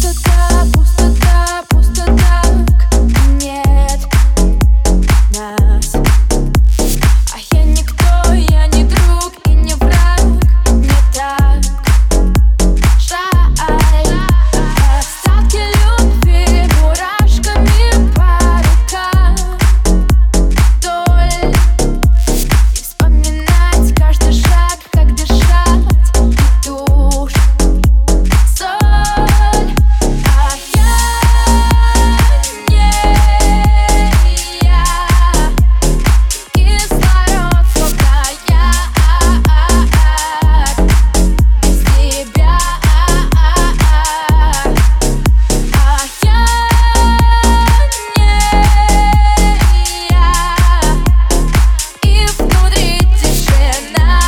Пустота, пустота, пустота. Нет нас. А я никто, я не друг и не враг. Мне так жаль. Остатки любви мурашками по рукам вдоль. И вспоминать каждый шаг, как дышать и тушь, соль. А я не я. Кислород, словно яд. Без тебя. А я не я. И внутри тишина.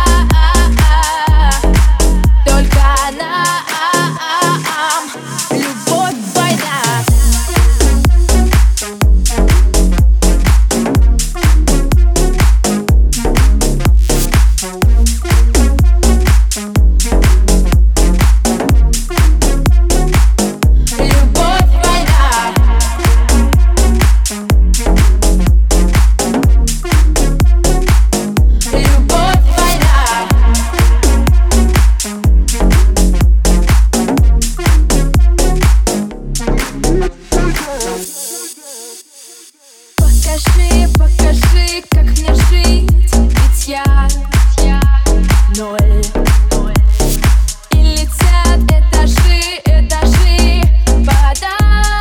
Только нам любовь, война. Любовь, война. Любовь, война. Покажи, покажи, как мне жить, ведь я ноль. И летят этажи, этажи подо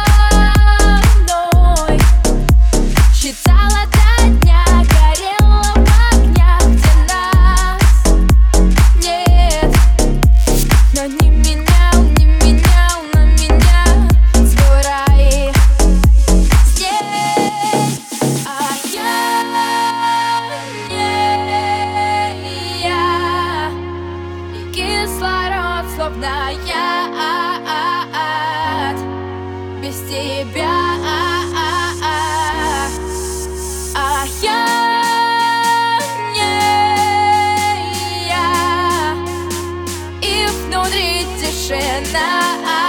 мной. Считала до дня, горела в огнях, где нас нет. Но не менял на меня свой рай здесь. А я не я. И кислород, словно яд. Без тебя. А я не я. И внутри тишина.